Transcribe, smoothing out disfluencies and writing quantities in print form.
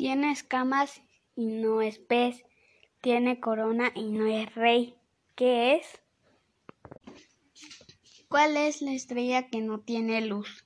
Tiene escamas y no es pez. Tiene corona y no es rey. ¿Qué es? ¿Cuál es la estrella que no tiene luz?